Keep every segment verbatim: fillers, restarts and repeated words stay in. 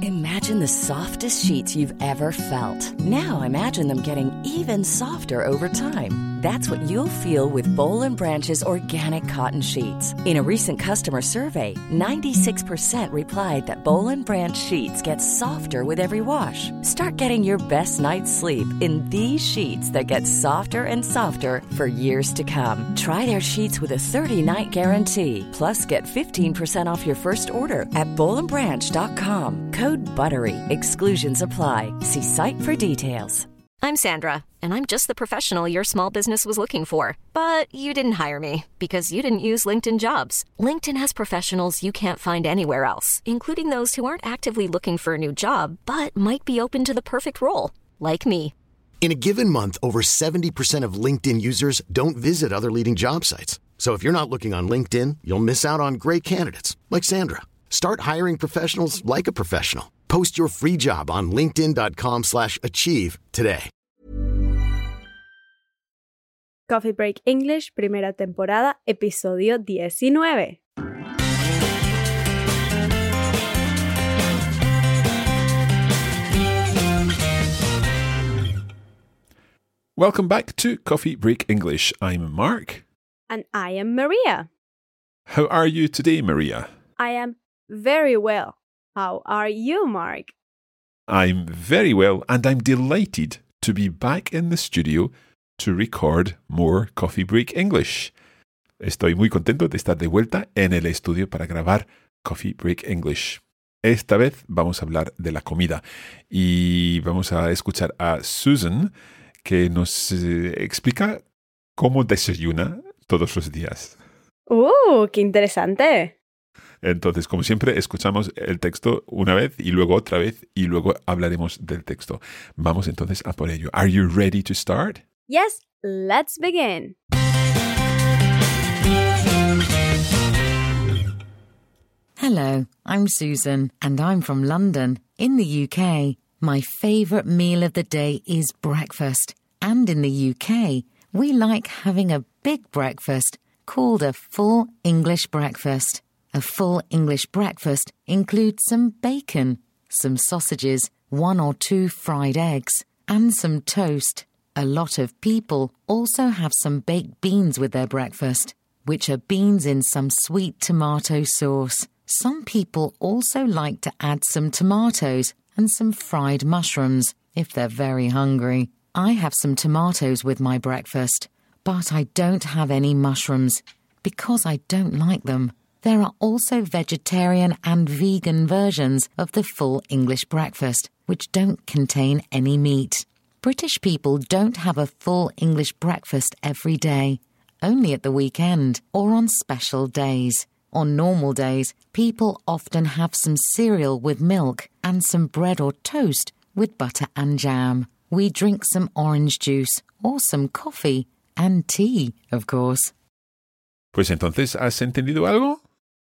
Imagine the softest sheets you've ever felt. Now imagine them getting even softer over time. That's what you'll feel with Boll and Branch's organic cotton sheets. In a recent customer survey, ninety-six percent replied that Boll and Branch sheets get softer with every wash. Start getting your best night's sleep in these sheets that get softer and softer for years to come. Try their sheets with a thirty-night guarantee. Plus, get fifteen percent off your first order at boll and branch dot com. Code BUTTERY. Exclusions apply. See site for details. I'm Sandra, and I'm just the professional your small business was looking for. But you didn't hire me because you didn't use LinkedIn Jobs. LinkedIn has professionals you can't find anywhere else, including those who aren't actively looking for a new job, but might be open to the perfect role, like me. In a given month, over seventy percent of LinkedIn users don't visit other leading job sites. So if you're not looking on LinkedIn, you'll miss out on great candidates like Sandra. Start hiring professionals like a professional. Post your free job on linkedin dot com slash achieve today. Coffee Break English, primera temporada, episodio diecinueve. Welcome back to Coffee Break English. I'm Mark. And I am Maria. How are you today, Maria? I am very well. How are you, Mark? I'm very well, and I'm delighted to be back in the studio to record more Coffee Break English. Estoy muy contento de estar de vuelta en el estudio para grabar Coffee Break English. Esta vez vamos a hablar de la comida y vamos a escuchar a Susan, que nos eh, explica cómo desayuna todos los días. ¡Uh, qué interesante! Entonces, como siempre, escuchamos el texto una vez y luego otra vez y luego hablaremos del texto. Vamos entonces a por ello. Are you ready to start? Yes, let's begin. Hello, I'm Susan, and I'm from London, in the U K. My favourite meal of the day is breakfast. And in the U K, we like having a big breakfast called a full English breakfast. A full English breakfast includes some bacon, some sausages, one or two fried eggs, and some toast. A lot of people also have some baked beans with their breakfast, which are beans in some sweet tomato sauce. Some people also like to add some tomatoes and some fried mushrooms if they're very hungry. I have some tomatoes with my breakfast, but I don't have any mushrooms because I don't like them. There are also vegetarian and vegan versions of the full English breakfast, which don't contain any meat. British people don't have a full English breakfast every day, only at the weekend or on special days. On normal days, people often have some cereal with milk and some bread or toast with butter and jam. We drink some orange juice or some coffee and tea, of course. Pues entonces, ¿has entendido algo?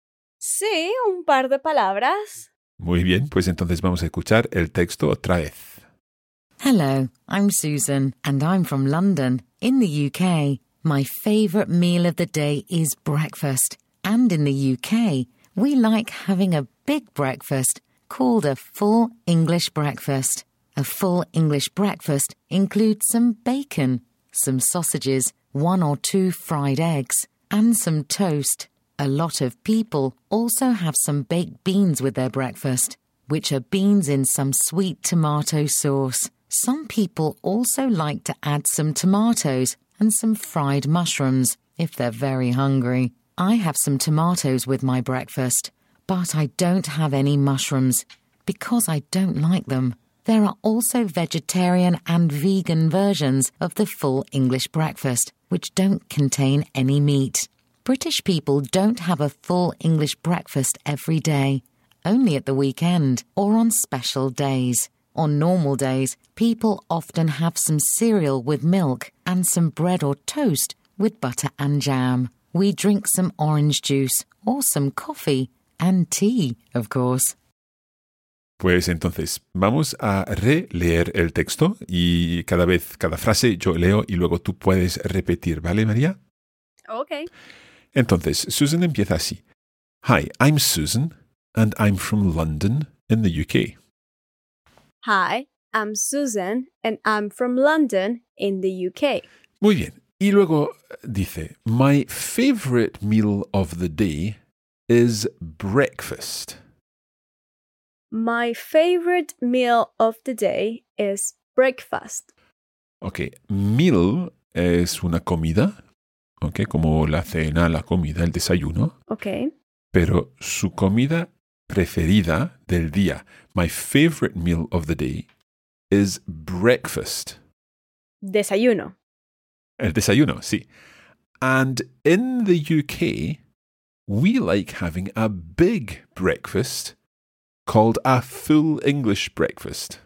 Sí, un par de palabras. Muy bien, pues entonces vamos a escuchar el texto otra vez. Hello, I'm Susan, and I'm from London, in the U K. My favourite meal of the day is breakfast. And in the U K, we like having a big breakfast called a full English breakfast. A full English breakfast includes some bacon, some sausages, one or two fried eggs, and some toast. A lot of people also have some baked beans with their breakfast, which are beans in some sweet tomato sauce. Some people also like to add some tomatoes and some fried mushrooms if they're very hungry. I have some tomatoes with my breakfast, but I don't have any mushrooms because I don't like them. There are also vegetarian and vegan versions of the full English breakfast, which don't contain any meat. British people don't have a full English breakfast every day, only at the weekend or on special days. On normal days, people often have some cereal with milk and some bread or toast with butter and jam. We drink some orange juice or some coffee and tea, of course. Pues entonces, vamos a releer el texto y cada vez, cada frase yo leo y luego tú puedes repetir, ¿vale, María? Okay. Entonces, Susan empieza así. Hi, I'm Susan, and I'm from London in the U K. Hi, I'm Susan and I'm from London in the U K. Muy bien. Y luego dice, my favorite meal of the day is breakfast. My favorite meal of the day is breakfast. Ok, meal es una comida, ok, como la cena, la comida, el desayuno. Okay. Pero su comida preferida del día, my favorite meal of the day, is breakfast. Desayuno. El desayuno, sí. And in the U K, we like having a big breakfast called a full English breakfast.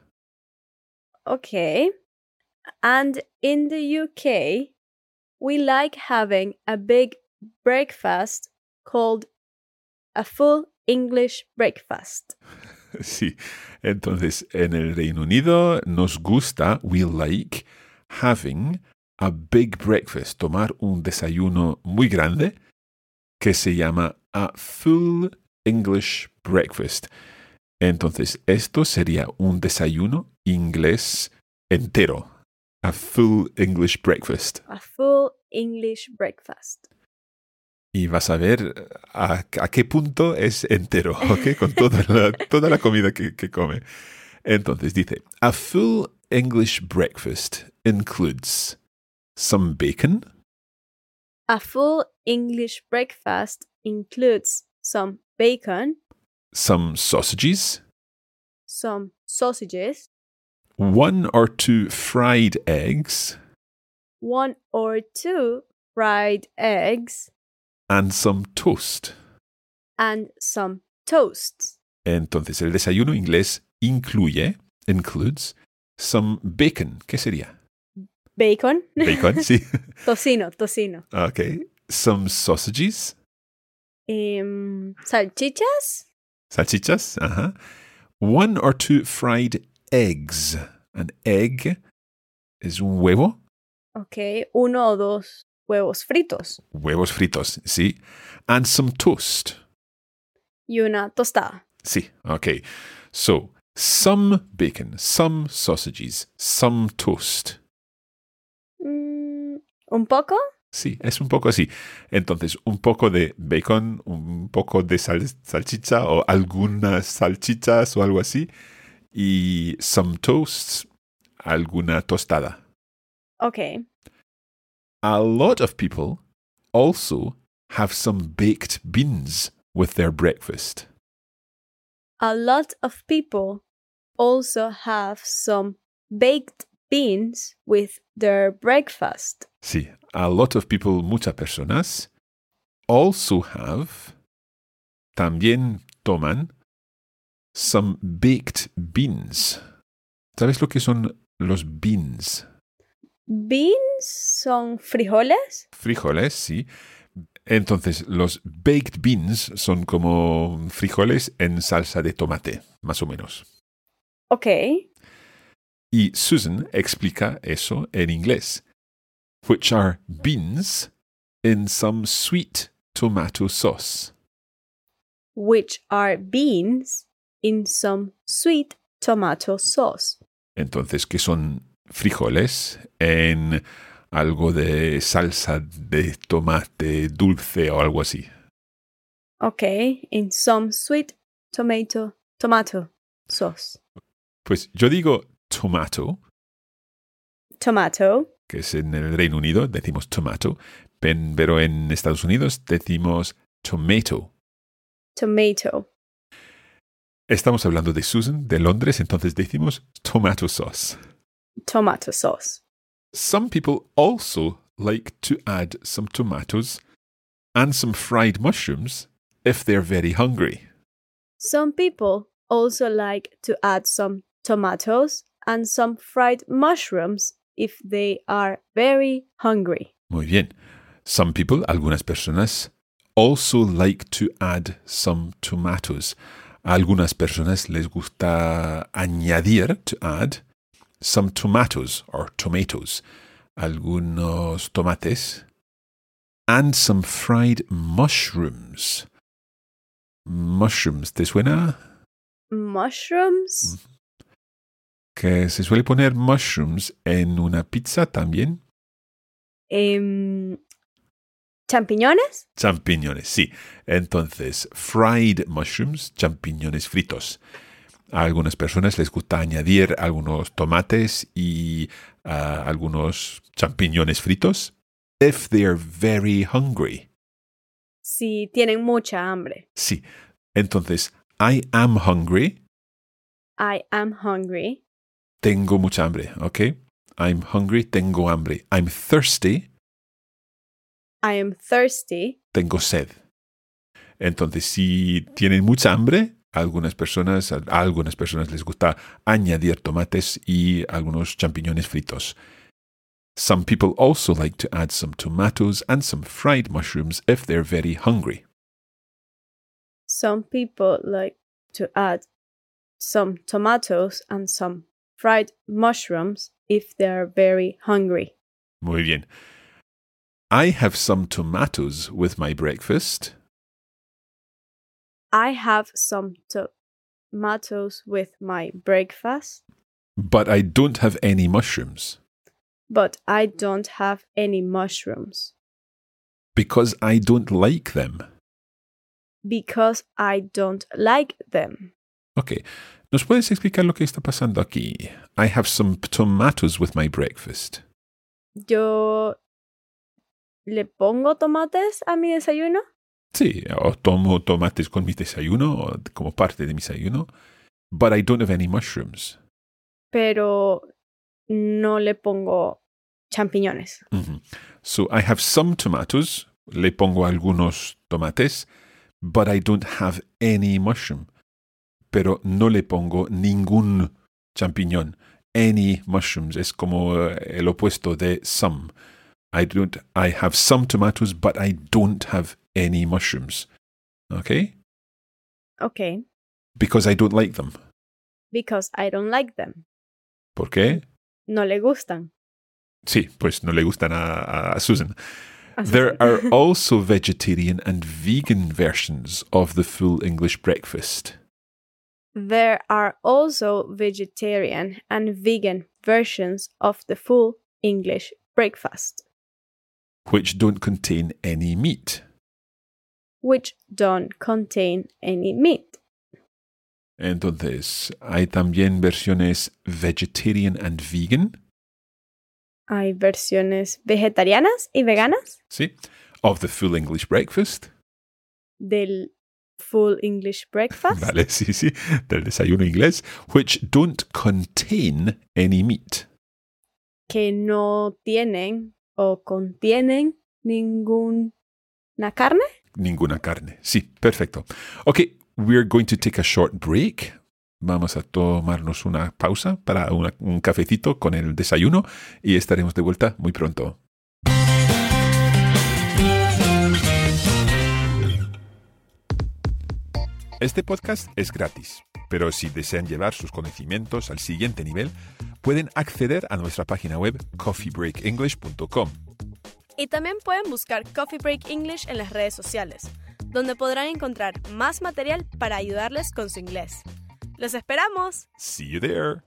Okay. And in the U K, we like having a big breakfast called a full English breakfast. Sí. Entonces, en el Reino Unido nos gusta, we like having a big breakfast, tomar un desayuno muy grande que se llama a full English breakfast. Entonces, esto sería un desayuno inglés entero. A full English breakfast. A full English breakfast. Y vas a ver a, a qué punto es entero, ¿ok? Con toda la, toda la comida que, que come. Entonces dice, a full English breakfast includes some bacon. A full English breakfast includes some bacon, Some sausages, some sausages, one or two fried eggs, one or two fried eggs, and some toast. and some toasts. Entonces, el desayuno inglés incluye, includes, some bacon. ¿Qué sería? Bacon. Bacon, sí. Tocino, tocino. Okay. Some sausages, Em, salchichas, salchichas, ajá. One or two fried eggs. An egg es un huevo. ok, uno o dos huevos fritos Huevos fritos, sí. And some toast. y una tostada. Sí, okay. So, some bacon, some sausages, some toast. Mm, ¿Un poco? Sí, es un poco así. Entonces, un poco de bacon, un poco de sal- salchicha o algunas salchichas o algo así. Y some toasts, alguna tostada. Ok. A lot of people also have some baked beans with their breakfast. A lot of people also have some baked beans with their breakfast. Sí, a lot of people, muchas personas, also have, también toman, some baked beans. ¿Sabes lo que son los beans? Beans son frijoles. Frijoles, sí. Entonces, los baked beans son como frijoles en salsa de tomate, más o menos. Ok. Y Susan explica eso en inglés, which are beans in some sweet tomato sauce. Which are beans in some sweet tomato sauce. Entonces, que son frijoles en algo de salsa de tomate dulce o algo así. Ok. In some sweet tomato tomato sauce. Pues yo digo tomato, Tomato. que es en el Reino Unido, decimos tomato, pen- pero en Estados Unidos decimos tomato. Tomato. Estamos hablando de Susan, de Londres, entonces decimos tomato sauce. Tomato sauce. Some people also like to add some tomatoes and some fried mushrooms if they're very hungry. Some people also like to add some tomatoes and some fried mushrooms if they are very hungry. Muy bien. Some people, algunas personas, also like to add some tomatoes. A algunas personas les gusta añadir, to add, some tomatoes or tomatoes. Algunos tomates. And some fried mushrooms. Mushrooms, ¿te suena? Mushrooms? Que se suele poner mushrooms en una pizza también. Em, ¿Champiñones? Champiñones, sí. Entonces, fried mushrooms, champiñones fritos. A algunas personas les gusta añadir algunos tomates y uh, algunos champiñones fritos. If they're very hungry. Si tienen mucha hambre. Sí. Entonces, I am hungry. I am hungry. Tengo mucha hambre, ¿ok? I'm hungry, tengo hambre. I'm thirsty. I am thirsty. Tengo sed. Entonces, si tienen mucha hambre, a algunas personas, a algunas personas les gusta añadir tomates y algunos champiñones fritos. Some people also like to add some tomatoes and some fried mushrooms if they're very hungry. Some people like to add some tomatoes and some fried mushrooms if they're very hungry. Muy bien. I have some tomatoes with my breakfast. I have some tomatoes with my breakfast. But I don't have any mushrooms. But I don't have any mushrooms. Because I don't like them. Because I don't like them. Ok. ¿Nos puedes explicar lo que está pasando aquí? I have some tomatoes with my breakfast. Yo le pongo tomates a mi desayuno. Sí, o tomo tomates con mi desayuno o como parte de mi desayuno. But I don't have any mushrooms. Pero no le pongo champiñones. Mm-hmm. So I have some tomatoes. Le pongo algunos tomates. But I don't have any mushroom. Pero no le pongo ningún champiñón. Any mushrooms es como el opuesto de some. I don't. I have some tomatoes, but I don't have any mushrooms. Okay? Okay. Because I don't like them. Because I don't like them. ¿Por qué? No le gustan. Sí, pues no le gustan a, a Susan. A Susan. There are also vegetarian and vegan versions of the full English breakfast. There are also vegetarian and vegan versions of the full English breakfast. Which don't contain any meat. Which don't contain any meat. Entonces, hay también versiones vegetarian and vegan. Hay versiones vegetarianas y veganas. Sí. Of the full English breakfast. Del full English breakfast. Vale, sí, sí. Del desayuno inglés. Which don't contain any meat. Que no tienen o contienen ninguna carne. Ninguna carne. Sí, perfecto. Okay, we're going to take a short break. Vamos a tomarnos una pausa para una, un cafecito con el desayuno y estaremos de vuelta muy pronto. Este podcast es gratis, pero si desean llevar sus conocimientos al siguiente nivel, pueden acceder a nuestra página web coffee break english punto com. Y también pueden buscar Coffee Break English en las redes sociales, donde podrán encontrar más material para ayudarles con su inglés. ¡Los esperamos! See you there.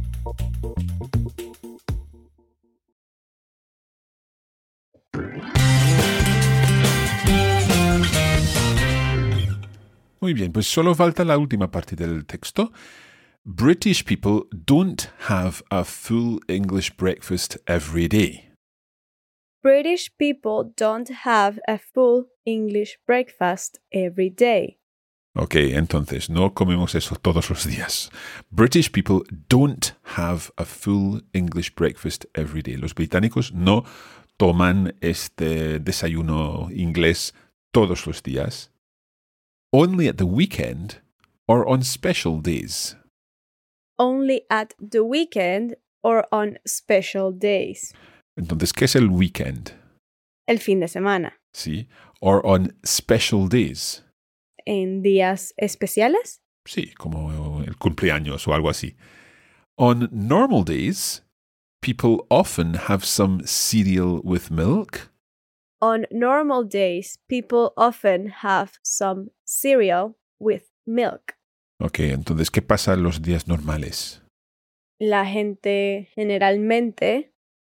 Muy bien, pues solo falta la última parte del texto. British people don't have a full English breakfast every day. British people don't have a full English breakfast every day. Ok, entonces no comemos eso todos los días. British people don't have a full English breakfast every day. Los británicos no toman este desayuno inglés todos los días. Only at the weekend or on special days. Only at the weekend or on special days. Entonces, ¿qué es el weekend? El fin de semana. Sí. Or on special days. ¿En días especiales? Sí, como el cumpleaños o algo así. On normal days, people often have some cereal with milk. On normal days, people often have some cereal with milk. Ok, entonces, ¿qué pasa en los días normales? la gente generalmente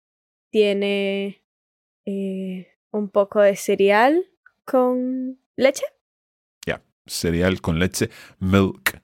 tiene eh, un poco de cereal con leche. Yeah, cereal con leche, milk.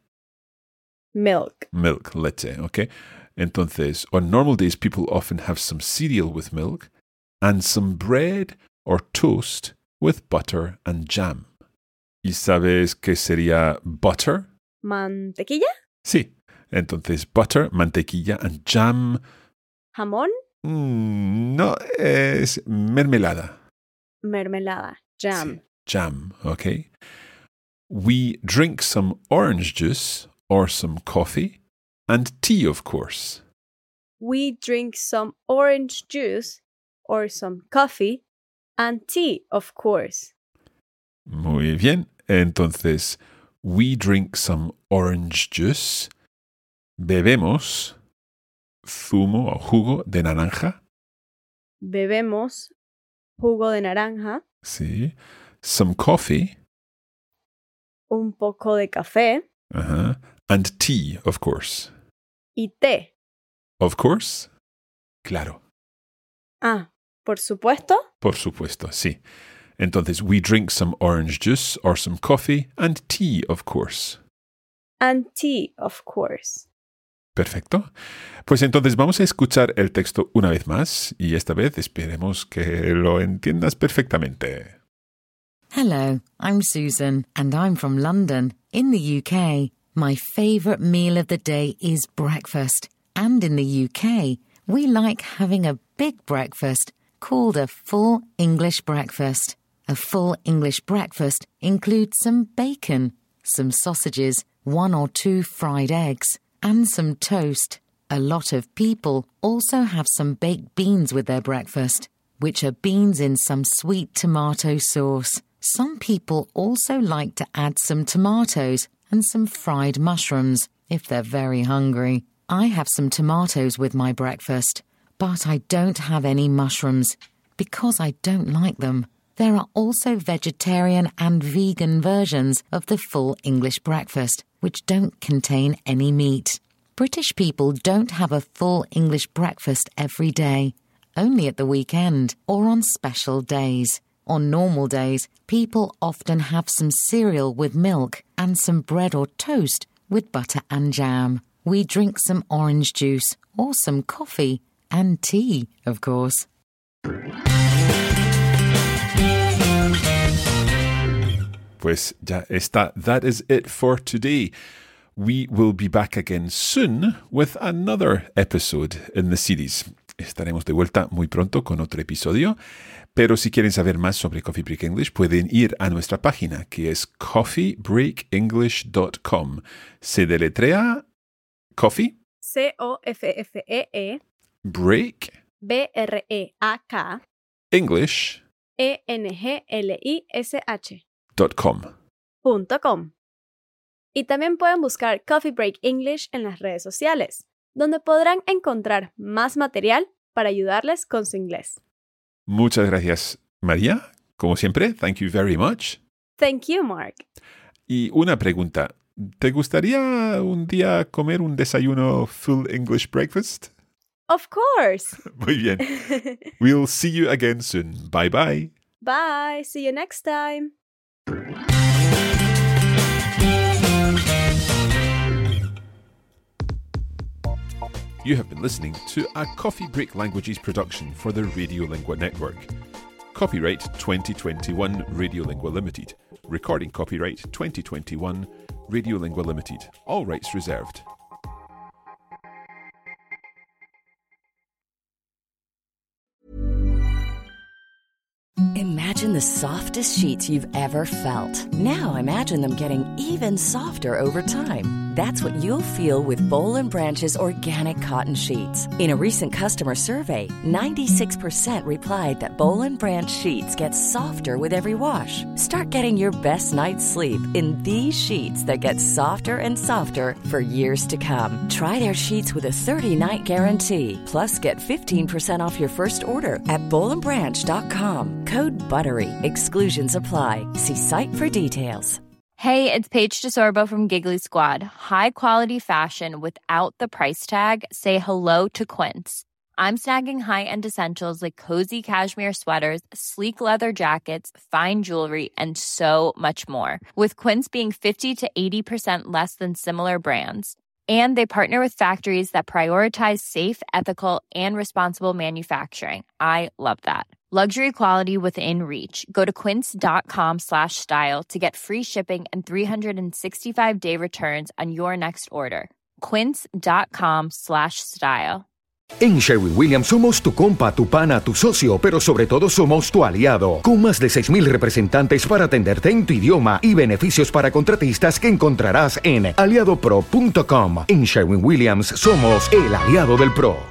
Milk. Milk, leche, okay? Entonces, on normal days, people often have some cereal with milk and some bread or toast with butter and jam. ¿Y sabes qué sería butter? ¿Mantequilla? Sí. Entonces, butter, mantequilla and jam. ¿Jamón? Mm, no, es mermelada. Mermelada. Jam. Sí, jam, okay? We drink some orange juice or some coffee and tea, of course. We drink some orange juice or some coffee and tea, of course. Muy bien. Entonces, we drink some orange juice. Bebemos zumo o jugo de naranja. Bebemos jugo de naranja. Sí. Some coffee. Un poco de café. Uh-huh. And tea, of course. Y té. Of course. Claro. Ah, por supuesto. Por supuesto, sí. Entonces, we drink some orange juice or some coffee and tea, of course. And tea, of course. Perfecto. Pues entonces vamos a escuchar el texto una vez más y esta vez esperemos que lo entiendas perfectamente. Hello, I'm Susan, and I'm from London, in the U K. My favourite meal of the day is breakfast. And in the U K, we like having a big breakfast called a full English breakfast. A full English breakfast includes some bacon, some sausages, one or two fried eggs, and some toast. A lot of people also have some baked beans with their breakfast, which are beans in some sweet tomato sauce. Some people also like to add some tomatoes and some fried mushrooms if they're very hungry. I have some tomatoes with my breakfast, but I don't have any mushrooms because I don't like them. There are also vegetarian and vegan versions of the full English breakfast, which don't contain any meat. British people don't have a full English breakfast every day, only at the weekend or on special days. On normal days, people often have some cereal with milk and some bread or toast with butter and jam. We drink some orange juice or some coffee and tea, of course. Pues ya está. That is it for today. We will be back again soon with another episode in the series. Estaremos de vuelta muy pronto con otro episodio. Pero si quieren saber más sobre Coffee Break English, pueden ir a nuestra página, que es coffee break english dot com. Se deletrea coffee. C O F F E E. Break. B R E A K. English. E N G L I S H. Dot com. Punto com. Y también pueden buscar Coffee Break English en las redes sociales, donde podrán encontrar más material para ayudarles con su inglés. Muchas gracias, María. Como siempre, thank you very much. Thank you, Mark. Y una pregunta. ¿Te gustaría un día comer un desayuno full English breakfast? Of course. Muy bien. We'll see you again soon. Bye bye. Bye. See you next time. You have been listening to a Coffee Break Languages production for the Radiolingua Network. Copyright twenty twenty-one Radiolingua Limited. Recording copyright twenty twenty-one Radiolingua Limited. All rights reserved. Imagine the softest sheets you've ever felt. Now imagine them getting even softer over time. That's what you'll feel with Boll and Branch's organic cotton sheets. In a recent customer survey, ninety-six percent replied that Boll and Branch sheets get softer with every wash. Start getting your best night's sleep in these sheets that get softer and softer for years to come. Try their sheets with a thirty-night guarantee. Plus, get fifteen percent off your first order at boll and branch dot com. Code BUTTERY. Exclusions apply. See site for details. Hey, it's Paige DeSorbo from Giggly Squad. High quality fashion without the price tag. Say hello to Quince. I'm snagging high-end essentials like cozy cashmere sweaters, sleek leather jackets, fine jewelry, and so much more. With Quince being fifty to eighty percent less than similar brands. And they partner with factories that prioritize safe, ethical, and responsible manufacturing. I love that. Luxury quality within reach. Go to quince.com slash style to get free shipping and three sixty-five day returns on your next order. Quince.com slash style. En Sherwin-Williams somos tu compa, tu pana, tu socio, pero sobre todo somos tu aliado. Con más de seis mil representantes para atenderte en tu idioma y beneficios para contratistas que encontrarás en aliado pro punto com. En Sherwin-Williams somos el aliado del pro.